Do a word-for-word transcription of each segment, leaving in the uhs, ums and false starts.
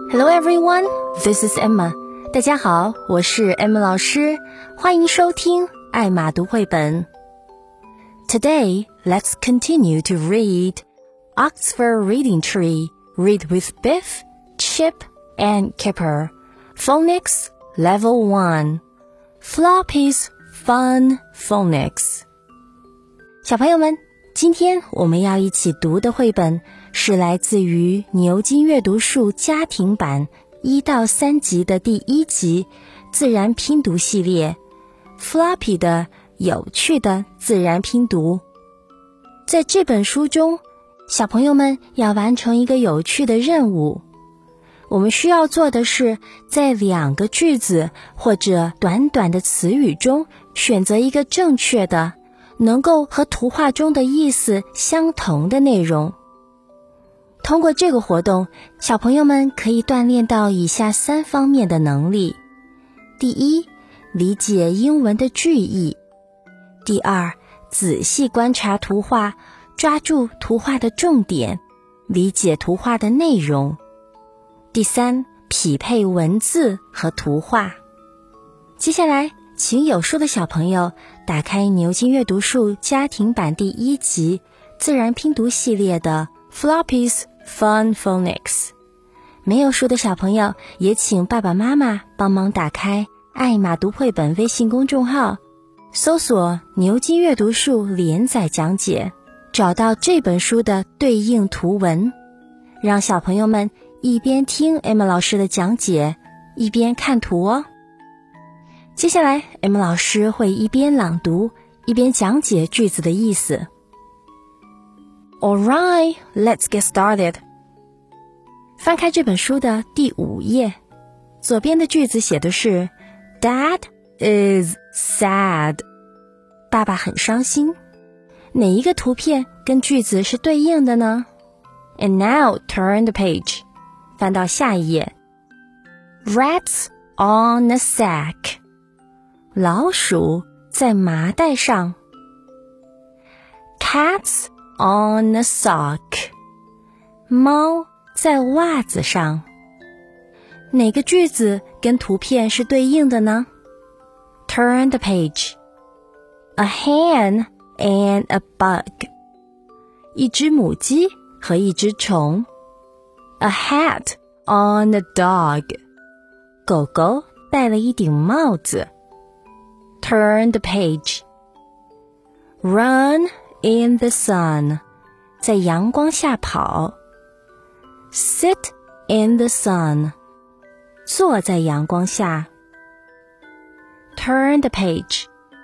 Hello everyone, this is Emma. 大家好，我是 Emma 老师，欢迎收听艾玛读绘本。Today, let's continue to read Oxford Reading Tree. Read with Biff, Chip, and Kipper. Phonics Level one. Floppy's Fun Phonics. 小朋友们，今天我们要一起读的绘本是来自于牛津阅读树家庭版一到三集的第一集自然拼读系列 Floppy 的有趣的自然拼读。在这本书中，小朋友们要完成一个有趣的任务。我们需要做的是在两个句子或者短短的词语中选择一个正确的能够和图画中的意思相同的内容。通过这个活动，小朋友们可以锻炼到以下三方面的能力。第一，理解英文的句意。第二，仔细观察图画，抓住图画的重点，理解图画的内容。第三，匹配文字和图画。接下来，请有书的小朋友打开牛津阅读树家庭版第一集自然拼读系列的 Floppy's Fun Phonics。 没有书的小朋友也请爸爸妈妈帮忙打开艾玛读绘本微信公众号，搜索牛津阅读树连载讲解，找到这本书的对应图文，让小朋友们一边听 Emma 老师的讲解，一边看图哦。接下来 Emma 老师会一边朗读，一边讲解句子的意思。Alright, let's get started. 翻开这本书的第五页，左边的句子写的是 Dad is sad. 爸爸很伤心。哪一个图片跟句子是对应的呢？ And now turn the page. 翻到下一页。Rats on a sack. 老鼠在麻袋上。Cats on a sock. 猫在袜子上。哪个句子跟图片是对应的呢？ Turn the page. A hen and a bug. 一只母鸡和一只虫。A hat on a dog. 狗狗戴了一顶帽子。Turn the page. Run in the sun. 在阳光下跑。Sit in the sun. 坐在阳光下。Turn the page.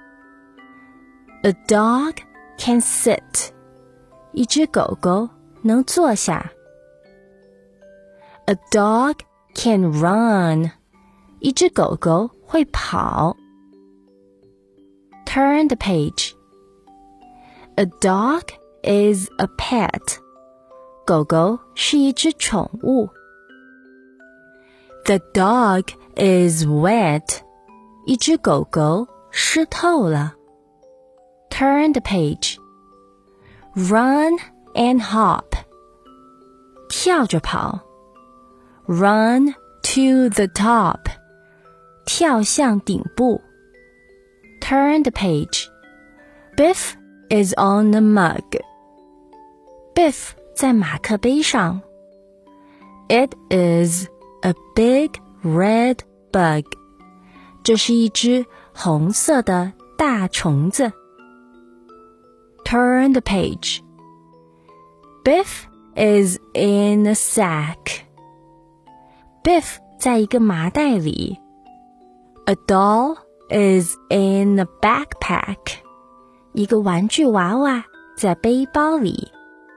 A dog can sit. 一只狗狗能坐下。A dog can run. 一只狗狗会跑。Turn the page. A dog is a pet. 狗狗是一只宠物。The dog is wet. 一只狗狗湿透了。Turn the page. Run and hop. 跳着跑。Run to the top. 跳向顶部。Turn the page. Biff is on the mug. Biff 在马克杯上。It is a big red bug. 这是一只红色的大虫子。Turn the page. Biff is in a sack. Biff 在一个麻袋里。A doll is in a backpack. 一个玩具娃娃在背包里。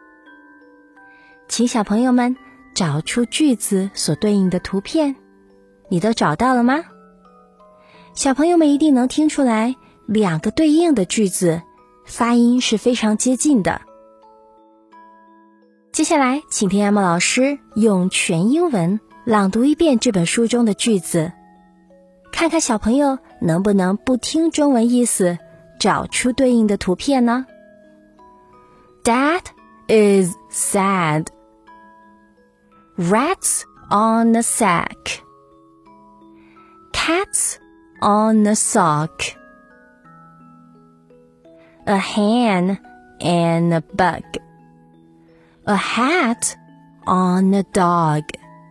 请小朋友们找出句子所对应的图片，你都找到了吗？小朋友们一定能听出来，两个对应的句子发音是非常接近的。接下来，请听 Emma 老师用全英文朗读一遍这本书中的句子，看看小朋友能不能不听中文意思，找出对应的图片呢？ Dad is sad. Rats on a sack. Cats on a sock. A hen and a bug. A hat on a dog.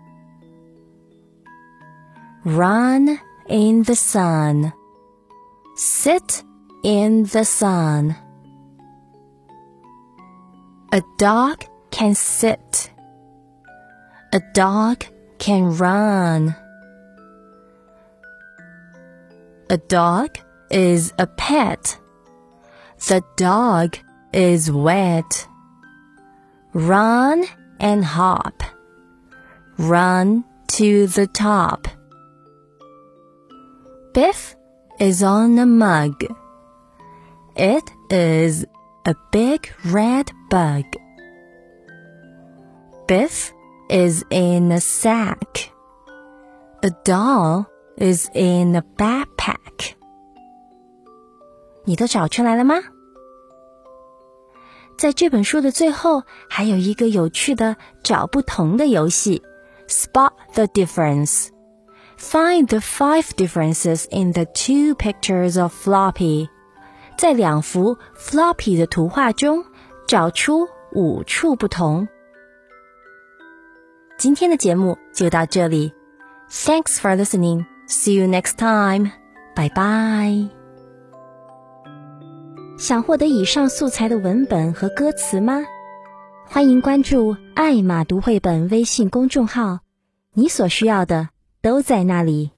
Run in the sun. Sit in the sun. A dog can sit. A dog can run. A dog is a pet. The dog is wet. Run and hop. Run to the top. Biff is on a mug. It is a big red bug. Biff is in a sack. A doll is in a backpack. 你都找出来了吗？在这本书的最后，还有一个有趣的找不同的游戏 Spot the difference. Find the five differences in the two pictures of Floppy. 在两幅 Floppy 的图画中找出五处不同。今天的节目就到这里。Thanks for listening. See you next time. Bye bye. 想获得以上素材的文本和歌词吗？欢迎关注爱马读绘本微信公众号，你所需要的都在那里。